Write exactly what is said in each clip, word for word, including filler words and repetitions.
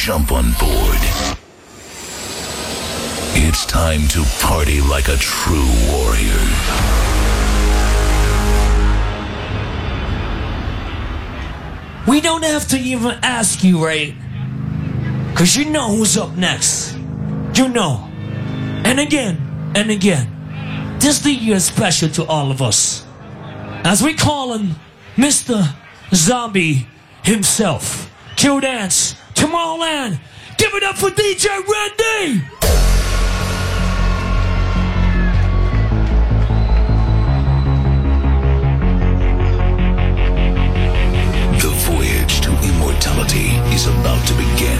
jump on board. It's time to party like a true warrior. We don't have to even ask you, right? Cause you know who's up next. You know. And again, and again. This year is special to all of us. As we call him Mister Zombie himself. Q Dance, Tomorrowland. Give it up for D J Randy! The voyage to immortality is about to begin.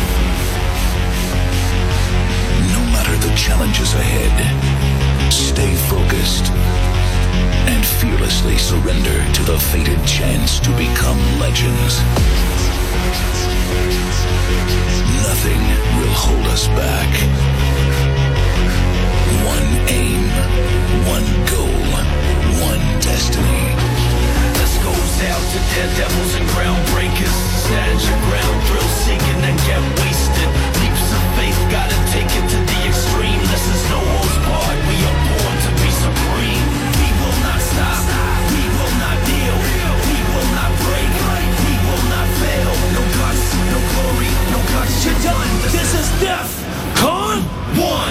No matter the challenges ahead, stay focused and fearlessly surrender to the fated chance to become legends. Nothing will hold us back. One aim, one goal, one destiny. This goes out to daredevils and groundbreakers. Stand your ground, thrill seeking and get wasted. Leaps of faith, gotta take it to the extreme. This is no holds barred, we are born to be supreme. We will not stop, we will not kneel, we will not break, we will not fail. No guts, no glory, no guts, you're done. This is Def Con One.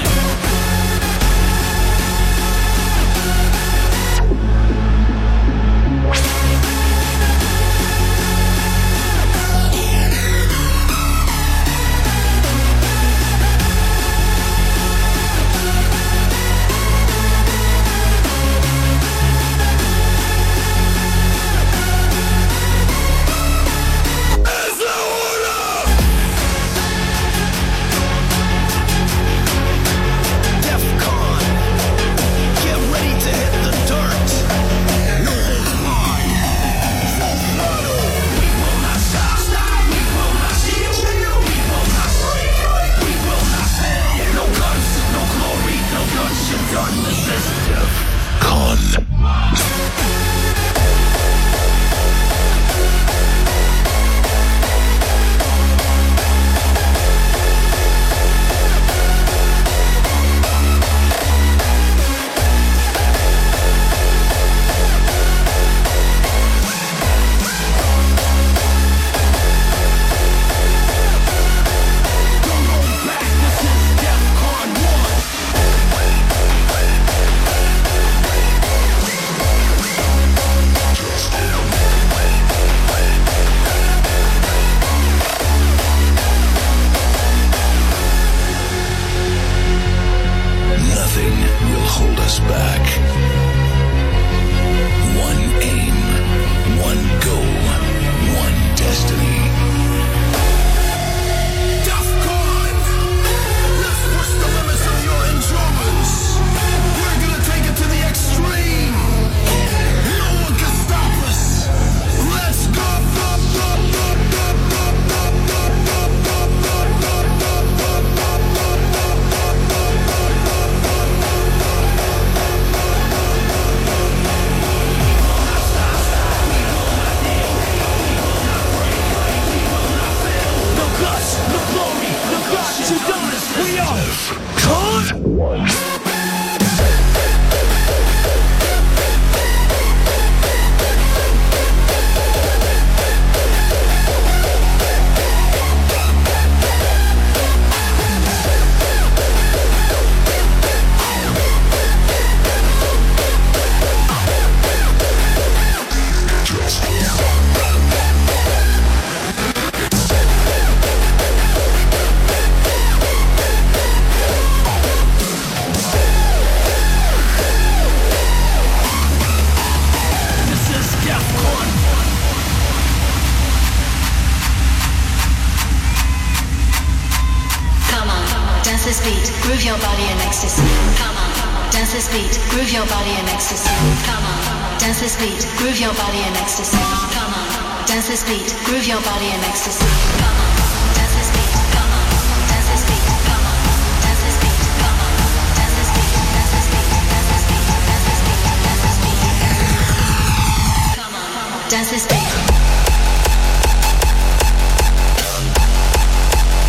Dance this beat.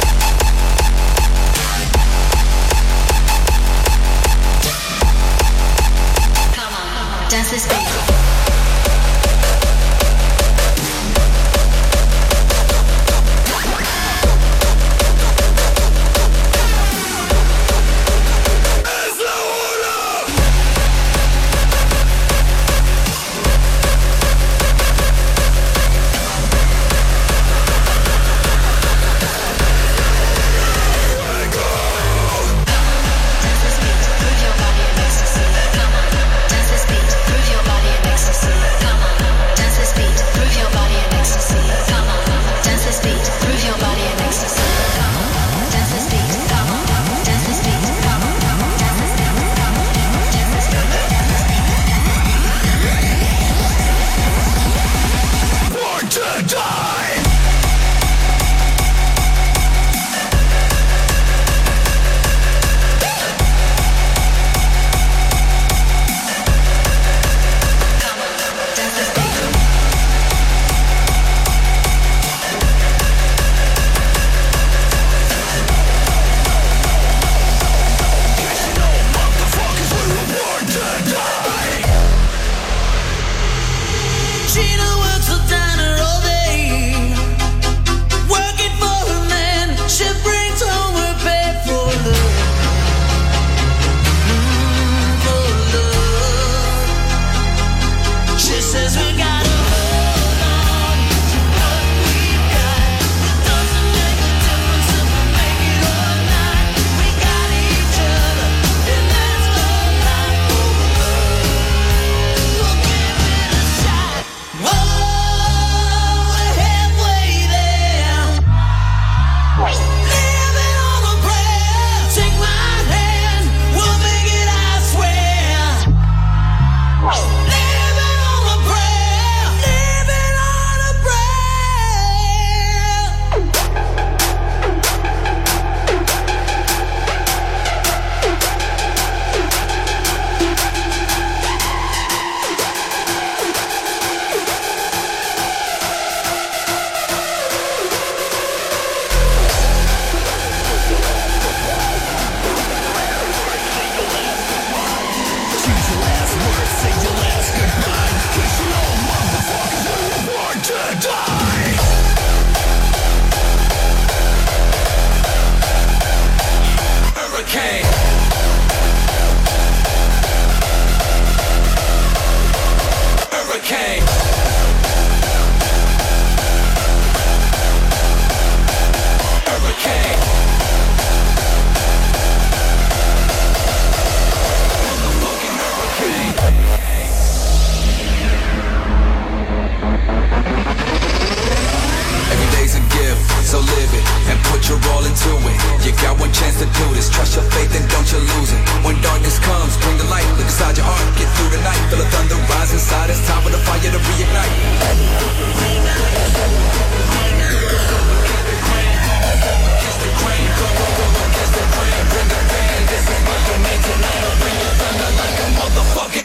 When darkness comes, bring the light. Look inside your heart, get through the night. Feel the thunder rise inside. It's time for the fire to reignite. Motherfucking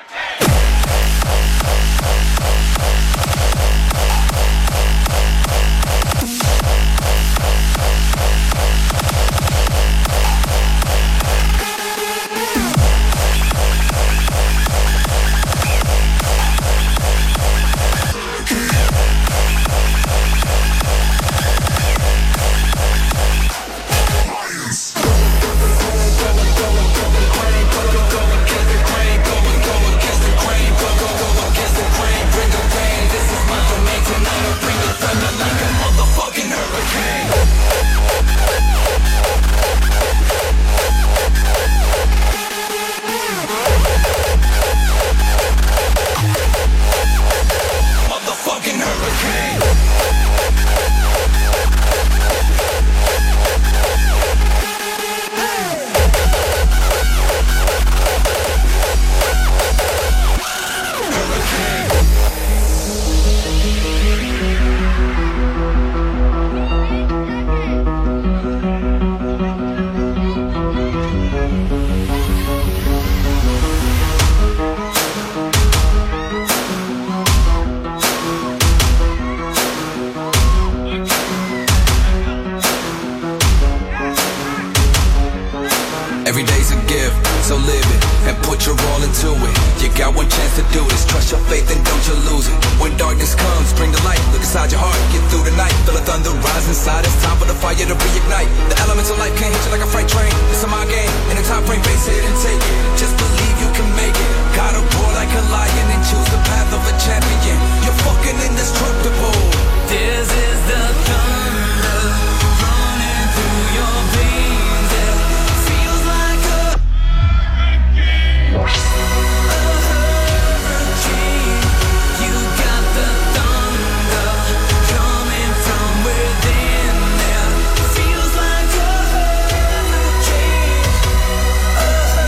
every day's a gift, so live it and put your all into it. You got one chance to do this. Trust your faith and don't you lose it. When darkness comes, bring the light. Look inside your heart, get through the night. Feel the thunder rise inside. It's time for the fire to reignite. The elements of life can't hit you like a freight train. It's a mind game, in a time frame, face it and take it. Just believe you can make it. Gotta roar like a lion and choose the path of a champion. You're fucking indestructible. This is the thunder running through your veins. It feels like a, a hurricane. You got the thunder coming from within. It feels like a hurricane, a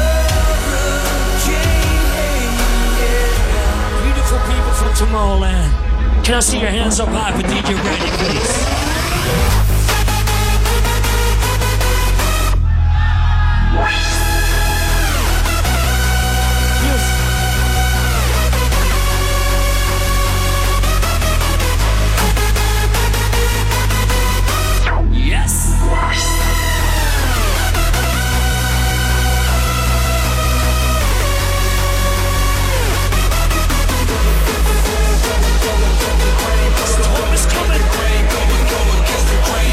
hurricane. Yeah. Beautiful people from Tomorrowland. Can I see your hands up high for D J Randy, please? Storm is coming. Rain, going, going, against the grain.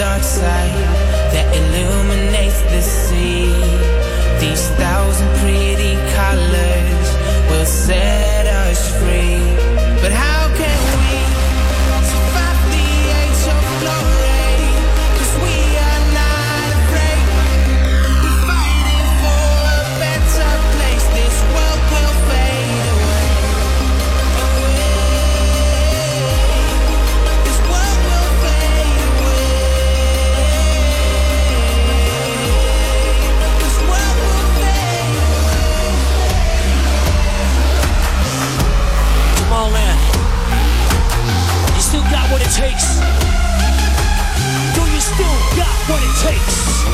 dark side that illuminates the sea. These thousand pretty colors will set us free. But how can we survive the age of glory? 'Cause we are not afraid. We're fighting for a better place. This world will fade away. What it takes? Do you still got what it takes?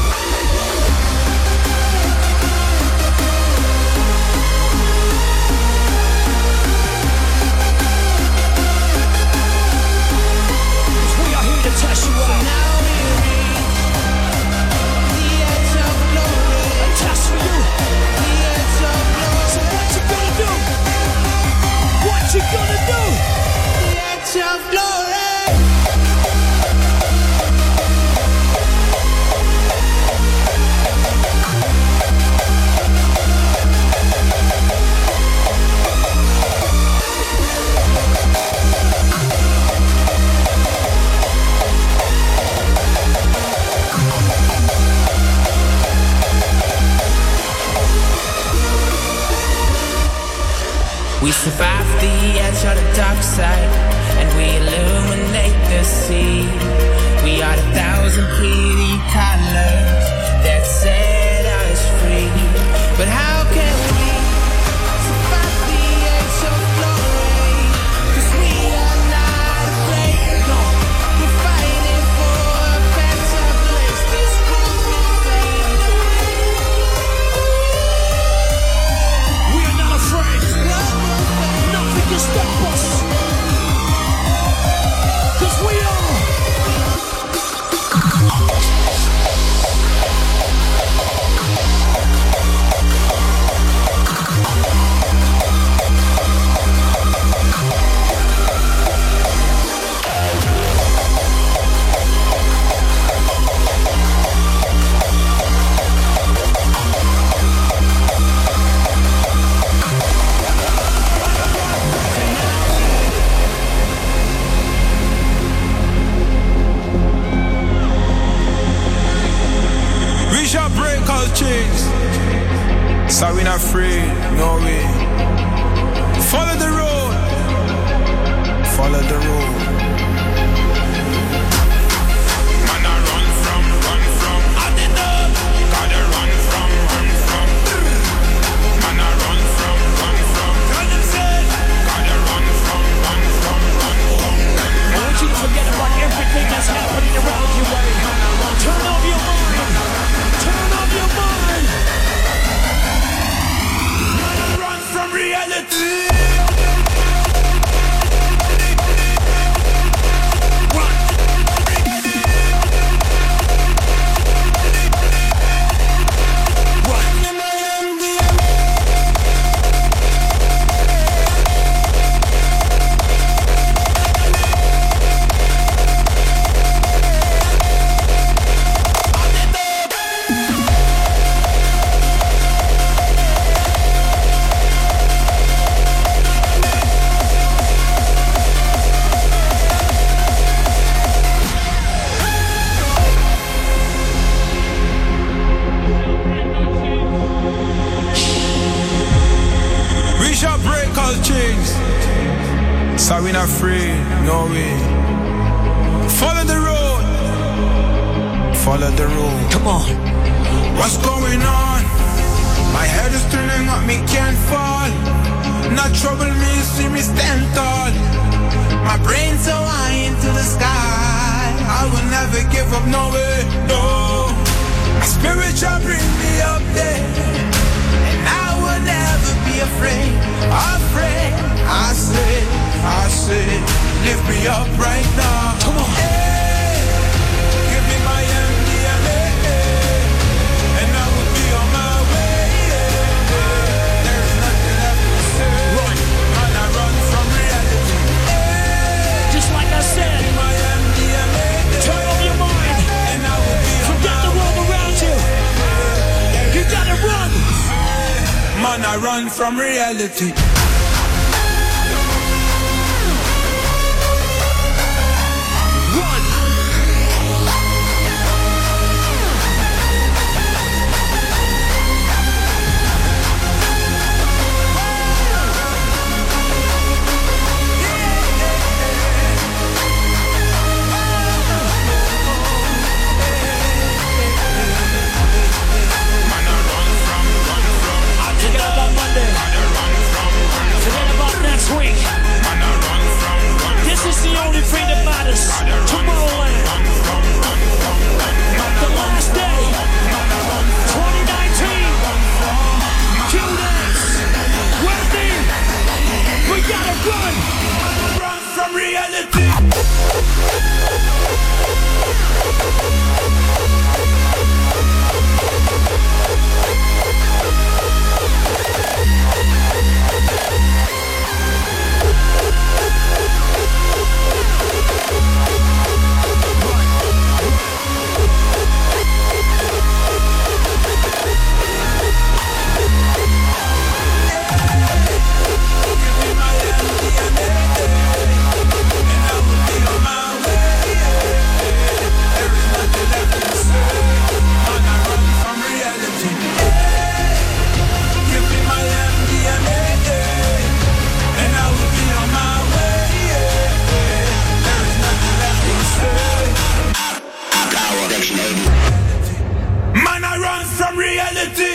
We are here to test you out. Now we reach the edge of glory. A test for you. The edge of glory. So what you gonna do? What you gonna do? The edge of glory. We survive the edge of the dark side, and we illuminate the sea. We are the thousand pretty colors that set us free. But how can we survive the age of glory? 'Cause we are not afraid. No, we're fighting for a better place. This world will fade away. We are not afraid. Nothing can stop us. 'Cause we are. Chains. So we're not free, no way. Follow the road, follow the road. Man, I run from, run from. I did that. Gotta run from, run from. Man, I run from, run from. Gotta run from, run from, run from. I want you to forget about everything that's happening around you right now. Turn off your mind. Turn off your mind. Run from reality. So we're not free, no way. Follow the road, follow the road. Come on. What's going on? My head is turning up, me can't fall. Not trouble me, see me stand tall. My brain's so high into the sky. I will never give up, no way, no. My spirit shall bring me up there, and I will never be afraid, afraid. I say, I say, lift me up right now. Come on. Hey, give me my M D M A, and I will be on my way. There's nothing left to say. Run. Man, I run from reality. Just like I said. My M D M A, turn off your mind. I run from reality. Week. This is the only thing that matters. Tomorrowland. The last day. twenty nineteen. Q-Dance. Wendy. We gotta run. Run from reality. Man, I run from reality.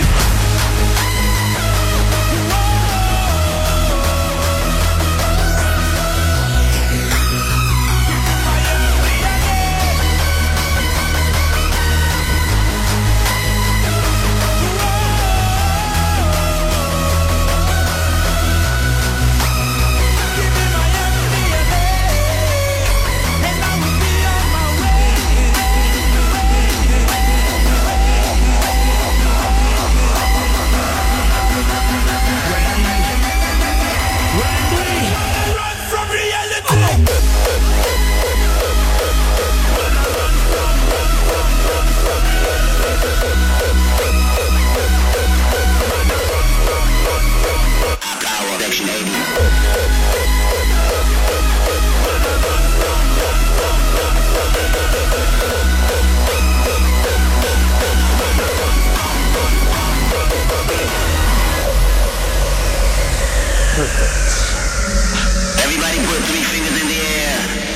Everybody put three fingers in the air.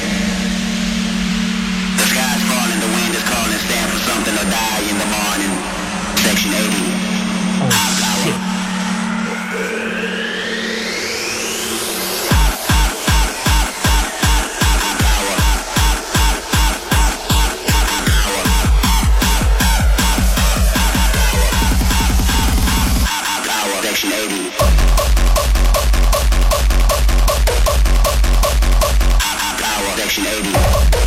The sky's falling, the wind is calling, stand for something or die in the morning. Section eighty. Oh, shit. Section eighty. Section eighty.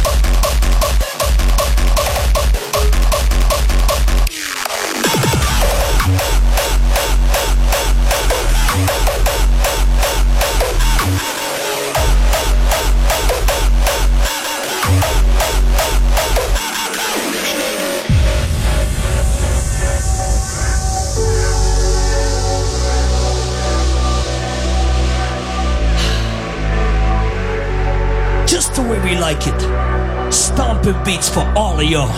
Just the way we like it. Stomping beats for all of y'all.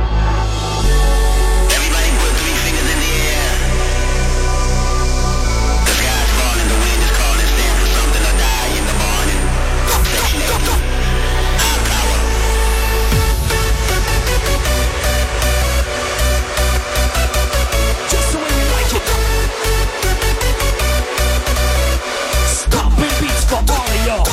Everybody put three fingers in the air. The sky's falling, the wind is calling, stand for something or die in the morning. Section eighty. Our power. Just the way we like it. Stomping beats for all of y'all.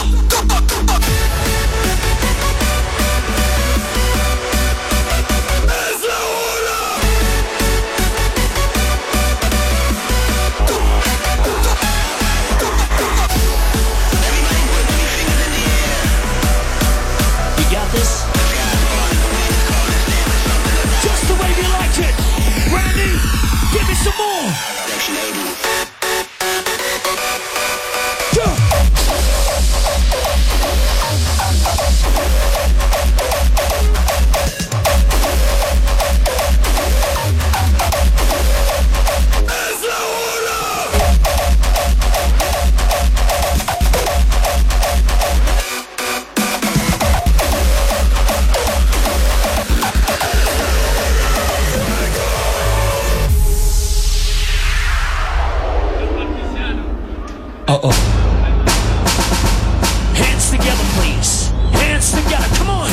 Uh-oh. Hands together, please. Hands together. Come on.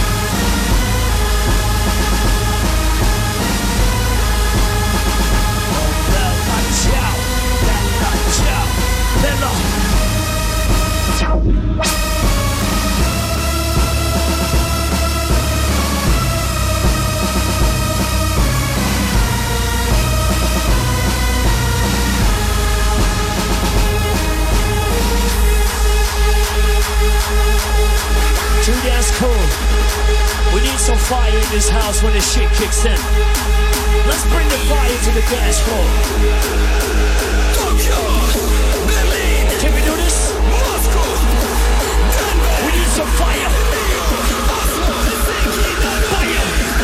Dude, that's cool. We need some fire in this house when this shit kicks in. Let's bring the fire to the dance floor. Can we do this? We need some fire. Fire.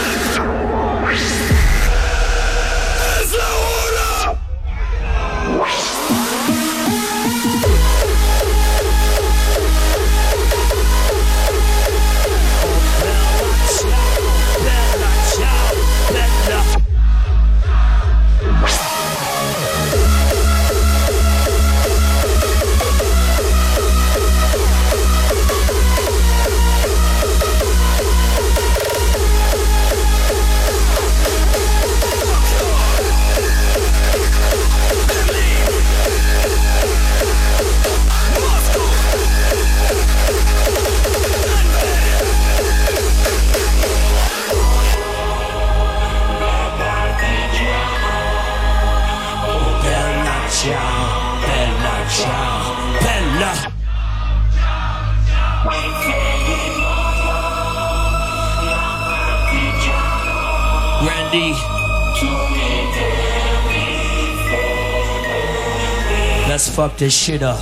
Randy, let's fuck this shit up.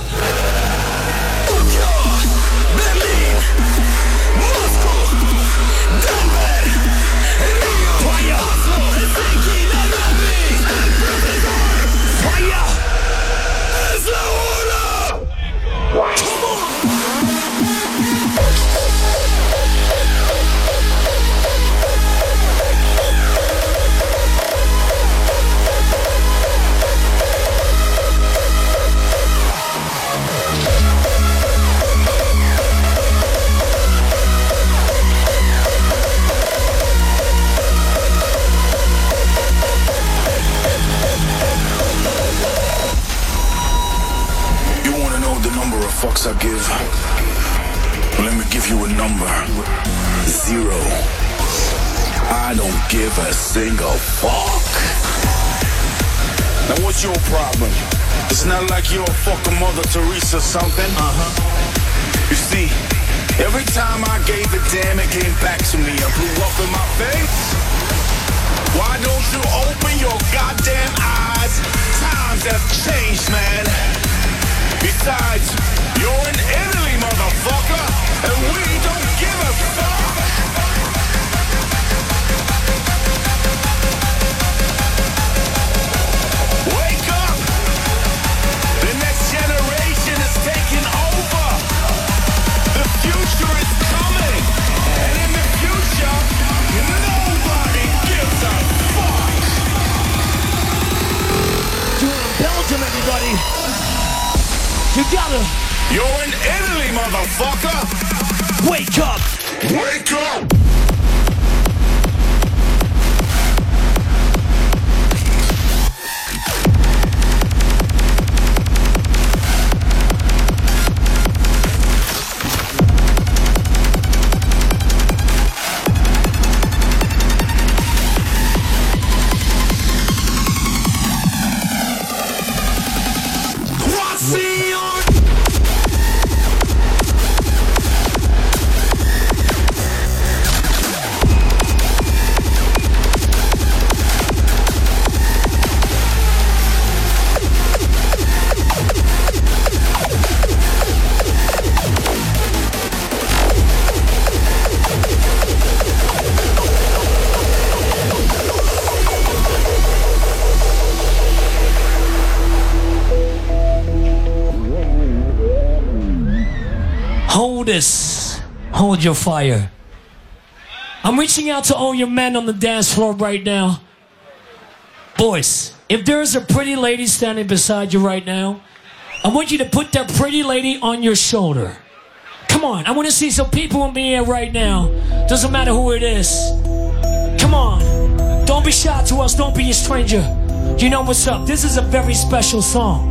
Fucks I give. Let me give you a number. Zero. I don't give a single fuck. Now what's your problem? It's not like you're a fucking Mother Teresa or something. Uh-huh. You see, every time I gave a damn, it came back to me and blew up in my face. Why don't you open your goddamn eyes? Times have changed, man. Besides, you're in Italy, motherfucker, and we don't give a fuck. Wake up! The next generation is taking over. The future is coming, and in the future, nobody gives a fuck. You're in Belgium, everybody. You gotta. You're in Italy, motherfucker. Wake up. Wake up. Hold this. Hold your fire. I'm reaching out to all your men on the dance floor right now. Boys, if there's a pretty lady standing beside you right now, I want you to put that pretty lady on your shoulder. Come on, I want to see some people in the air right now. Doesn't matter who it is. Come on. Don't be shy to us. Don't be a stranger. You know what's up. This is a very special song.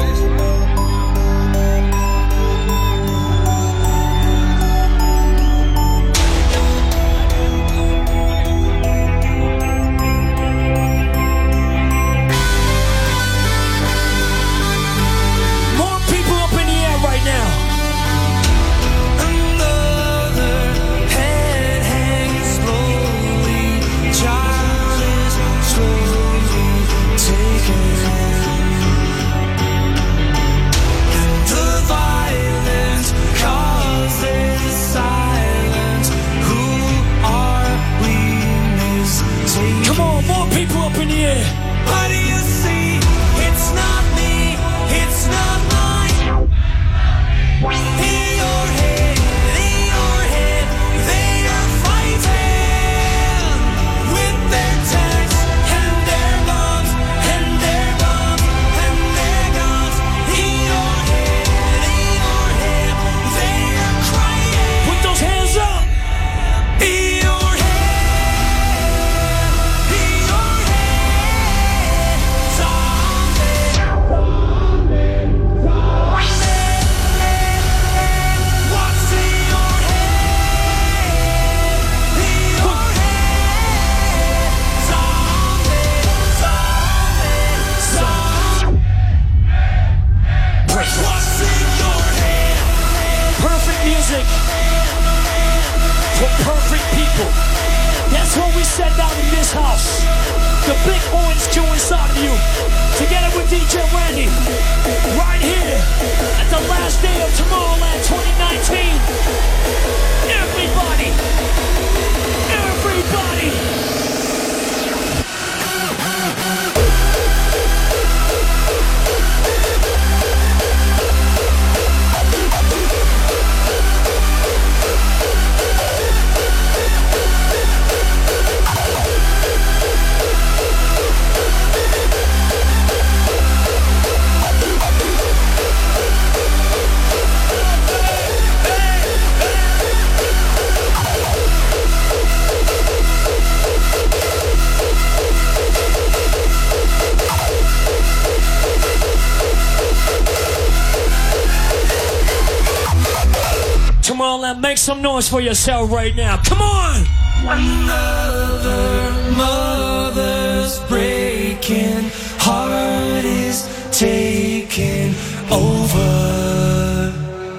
Make some noise for yourself right now. Come on! Another mother's breaking heart is taking over.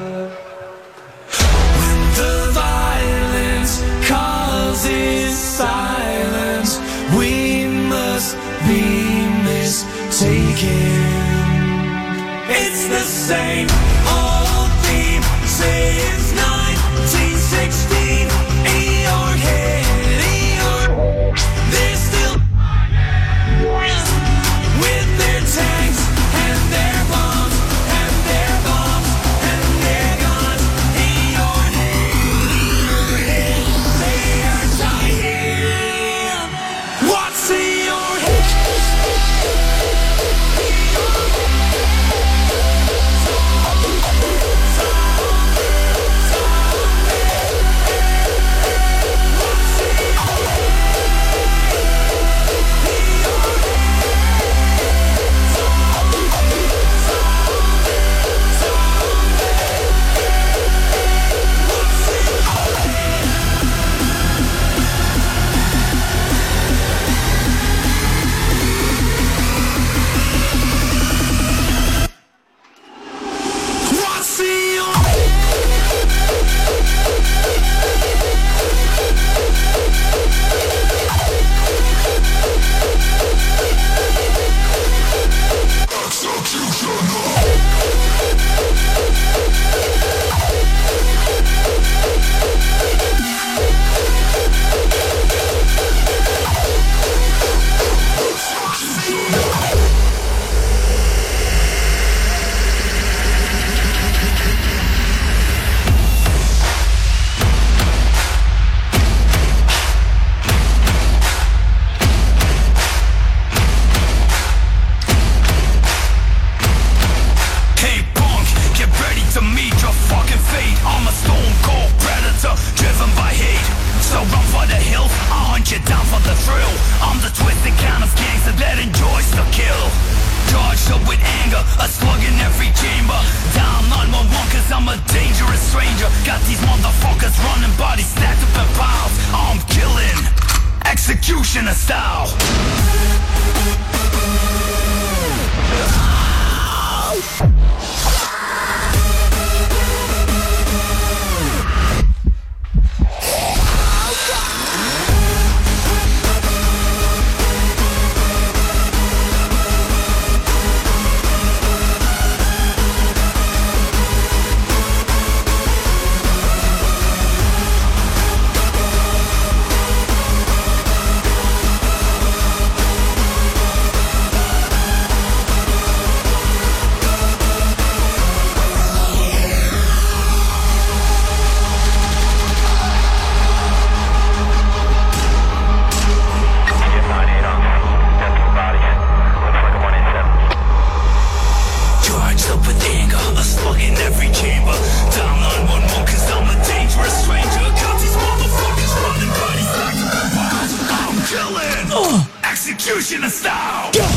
When the violence causes silence, we must be mistaken. It's the same old theme since nineteen sixteen. In your head, in your they're still with their tanks and their bombs and their bombs and their guns. In your head, they are dying. What's in your head? executioner style. Executioner style. Go.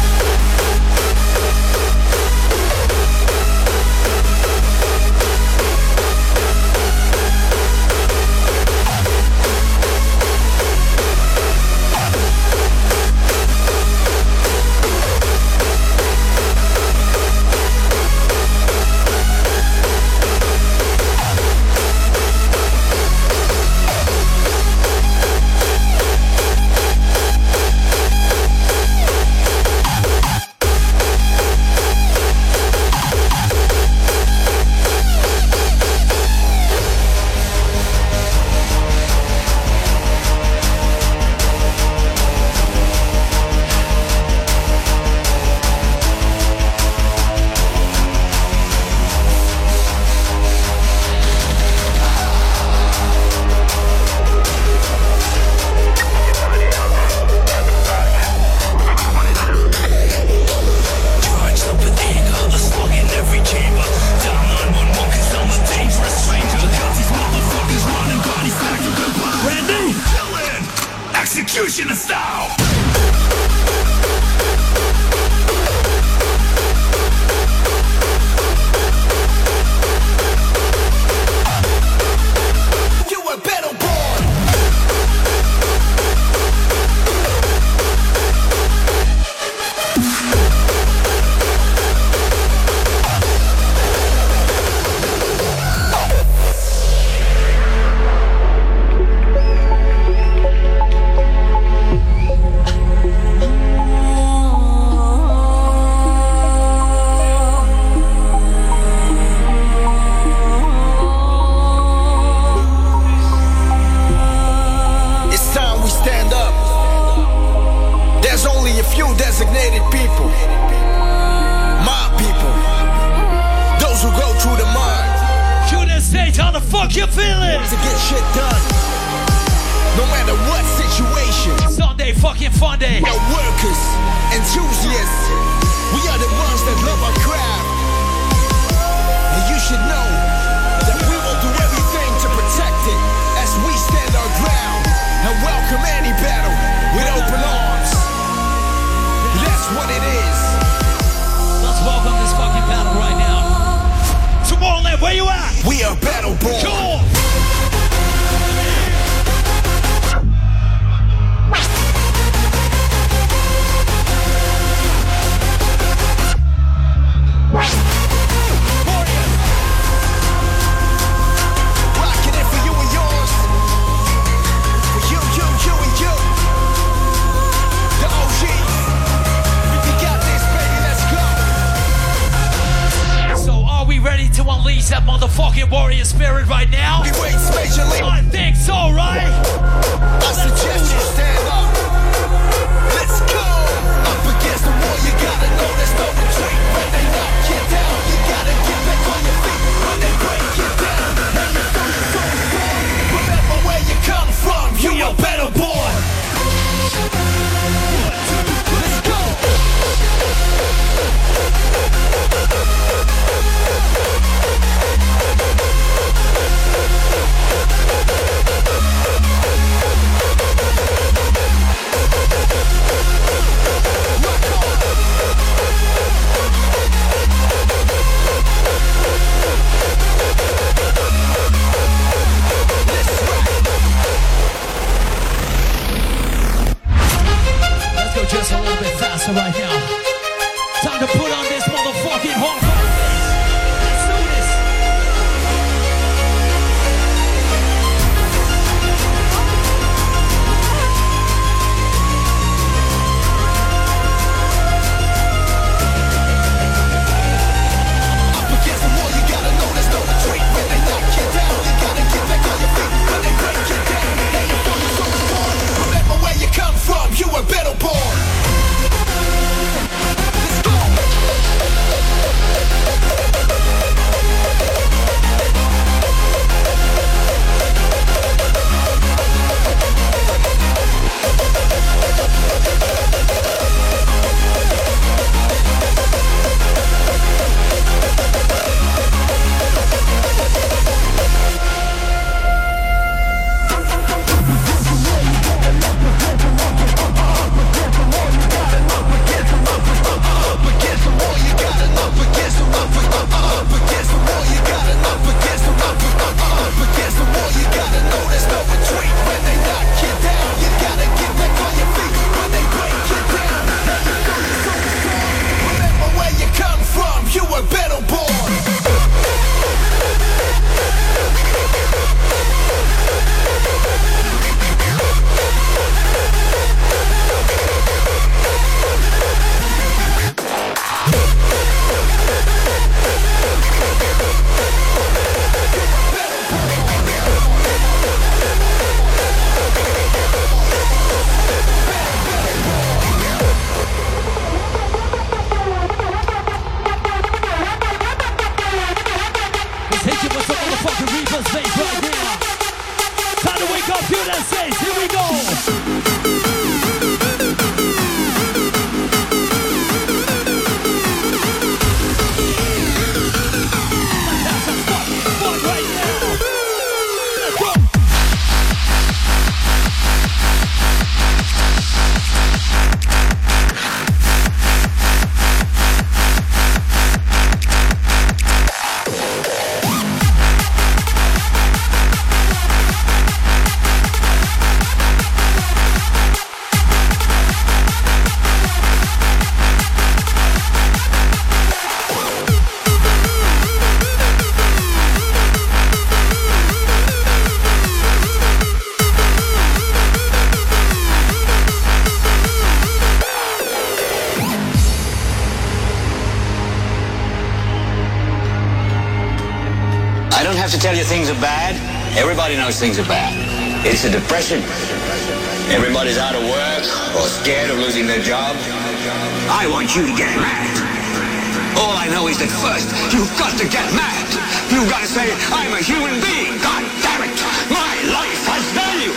Executioner style. You were battle born. Designated people, my people, those who go through the mud. Shoot that stage, how the fuck you feeling? To get shit done, no matter what situation. Sunday fucking fun day. We're workers, enthusiasts, we are the ones that love our craft. And you should know that we will do everything to protect it as we stand our ground and welcome any battle with open arms. That's what it is. Let's welcome this fucking battle right now. Tomorrowland, where you at? We are battle born. Sure. Rocking it for you and yours. For you, you, you, and you. The O Gs. We ready to unleash that motherfucking warrior spirit right now? We wait, majorly. I think so, right? I suggest you stand up. Let's go. Up against the wall, you gotta know there's no retreat. When they knock you down, you gotta get back on your feet. When they break you down, and you know you're so strong. Remember where you come from, you are battle born. Let's go. faster right now. Time to put on this motherfucking hardcore. Let's do this. Up against the wall, you gotta know there's no retreat. When they knock you down, you gotta get back on your feet. When they break you down, now you're focused on the born. Remember where you come from, you were better born. Let's go. To tell you things are bad, everybody knows things are bad. It's a depression. Everybody's out of work or scared of losing their job. I want you to get mad. All I know is that first, you've got to get mad. You've got to say, I'm a human being. God damn it, my life has value.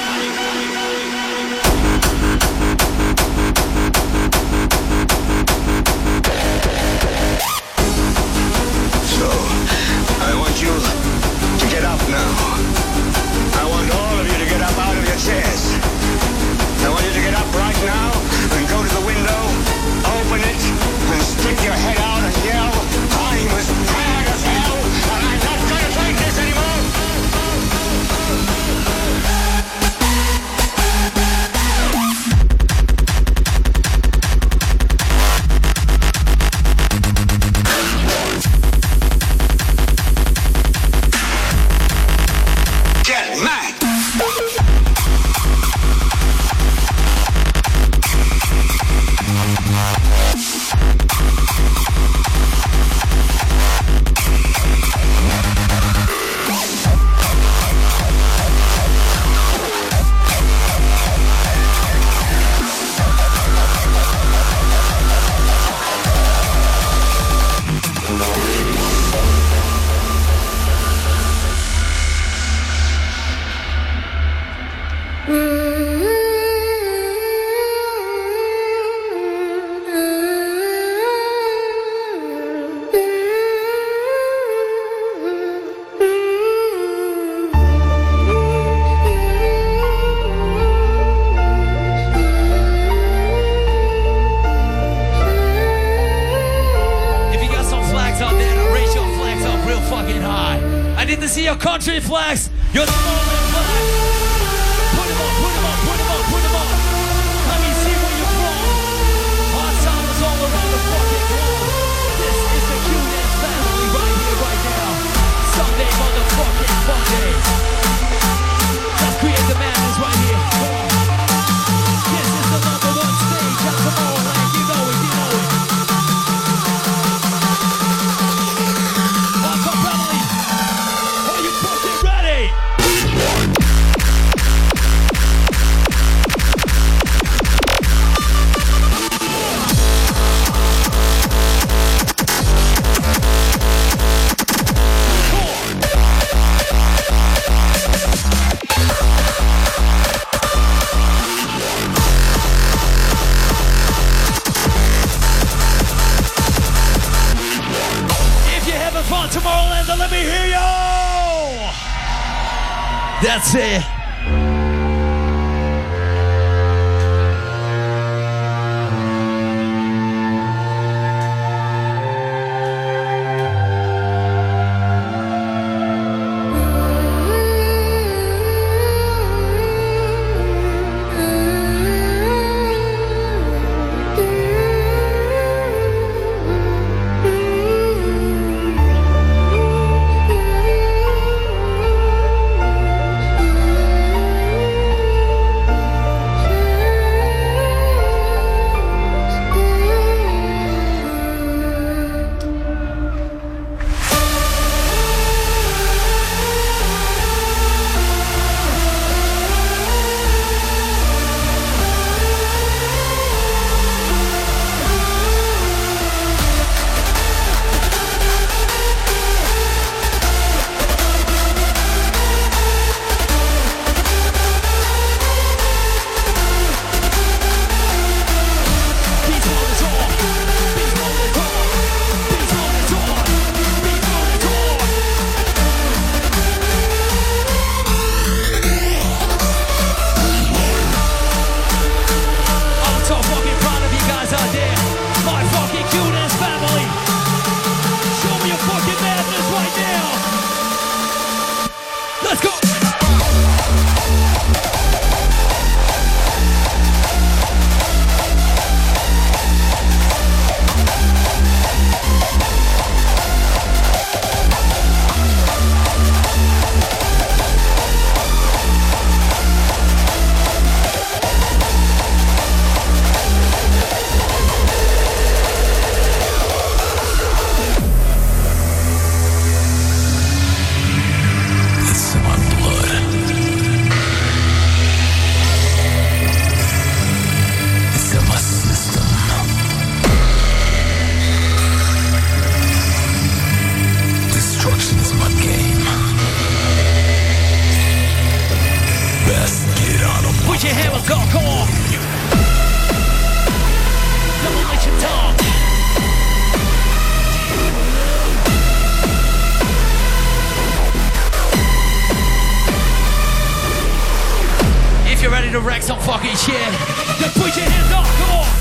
So, I want you to get up now. I want all of you to get up out of your chairs. I want you to get up right now and go to the window, open it, and stick your head out and yell, I'm as mad as hell, and I'm not going to take this anymore. see your country flags. Your Northern flag. Put them on, put them on, put them on, put them on. Let me see where you're from. Hot song me hear you. That's it. To wreck some fucking shit, then put your hands up, come on.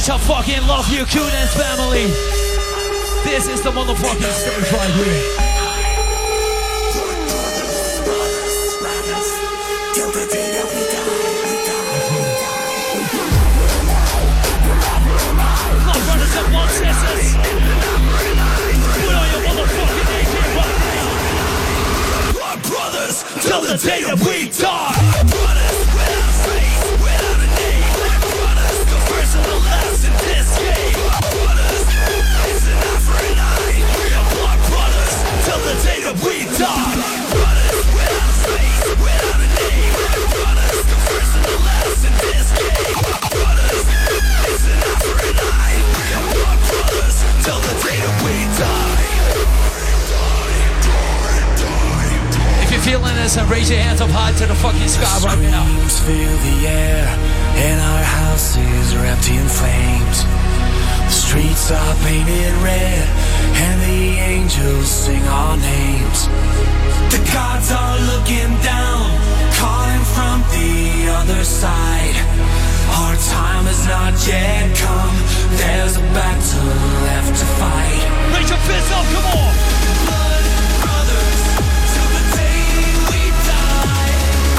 much I fucking love you, Q-Dance family. This is the motherfucking stage right here. Blood brothers and blood sisters. Put on your motherfucking A J right now. Blood brothers, till the day that we die. Brothers without faith, without a name. Brothers, the first and the last in this game. Brothers, it's an eye for an eye. We are blood brothers, till the day that we die. Brothers without faith, without a name. Brothers, the first and the last in this game. Brothers, it's an eye for an eye. We are blood brothers, till the day that we die. If you're feeling this, then raise your hands up high to the fucking sky right now. Screams fill the air, and our houses are empty in flames. The streets are painted red, and the angels sing our names. The gods are looking down, calling from the other side. Our time has not yet come, there's a battle left to fight. Raise your fists up, come on! Blood brothers, till the day we die.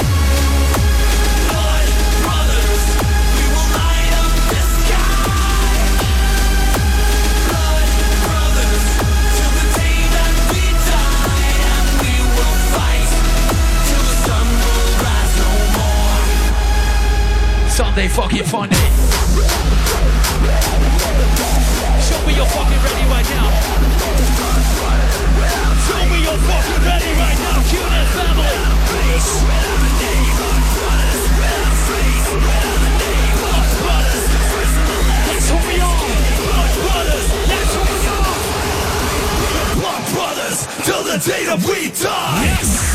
Blood brothers, we will light up the sky. Blood brothers, till the day that we die. And we will fight till the sun will rise no more. Sunday fucking fun day. Show me you're fucking ready right now. Show me you're fucking ready right now, Q-Dance family. That's who we are. Blood brothers, that's who we are. Blood brothers, till the day that we die. Yes.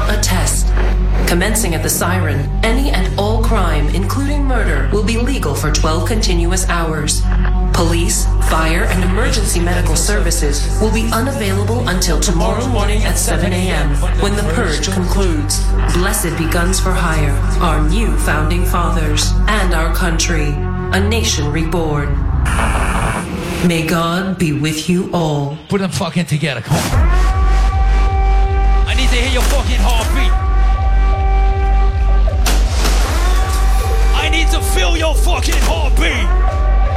a test. Commencing at the siren, any and all crime, including murder, will be legal for twelve continuous hours. Police, fire, and emergency medical services will be unavailable until tomorrow morning at seven a.m. when the purge concludes. Blessed be Guns for Hire, our new founding fathers, and our country, a nation reborn. May God be with you all. Put them fucking together, come on. I need to hear your fucking heartbeat. I need to feel your fucking heartbeat.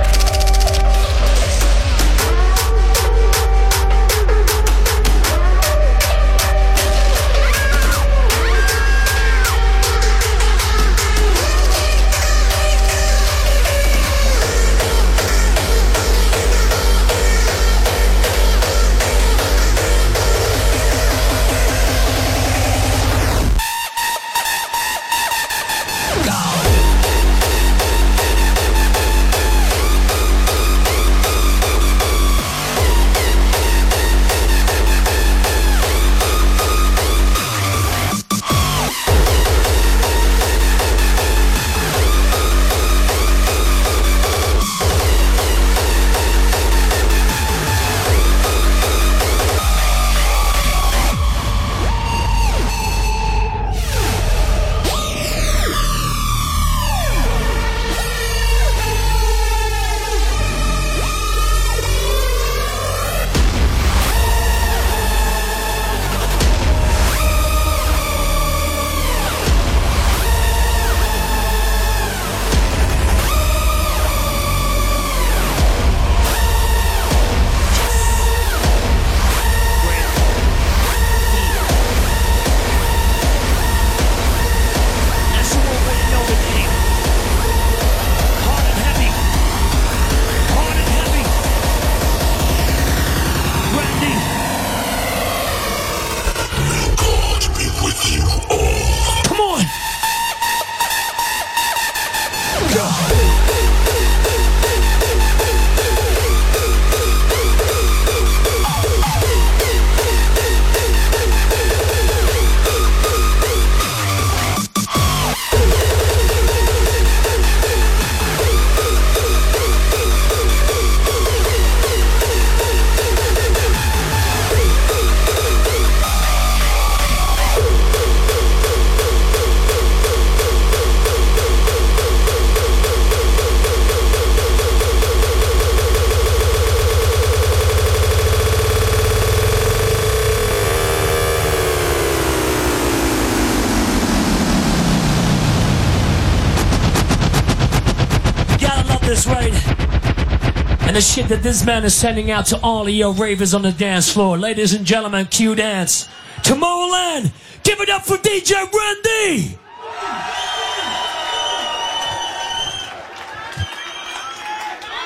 And the shit that this man is sending out to all of your ravers on the dance floor. Ladies and gentlemen, Q Dance. Tomorrowland, give it up for D J Randy!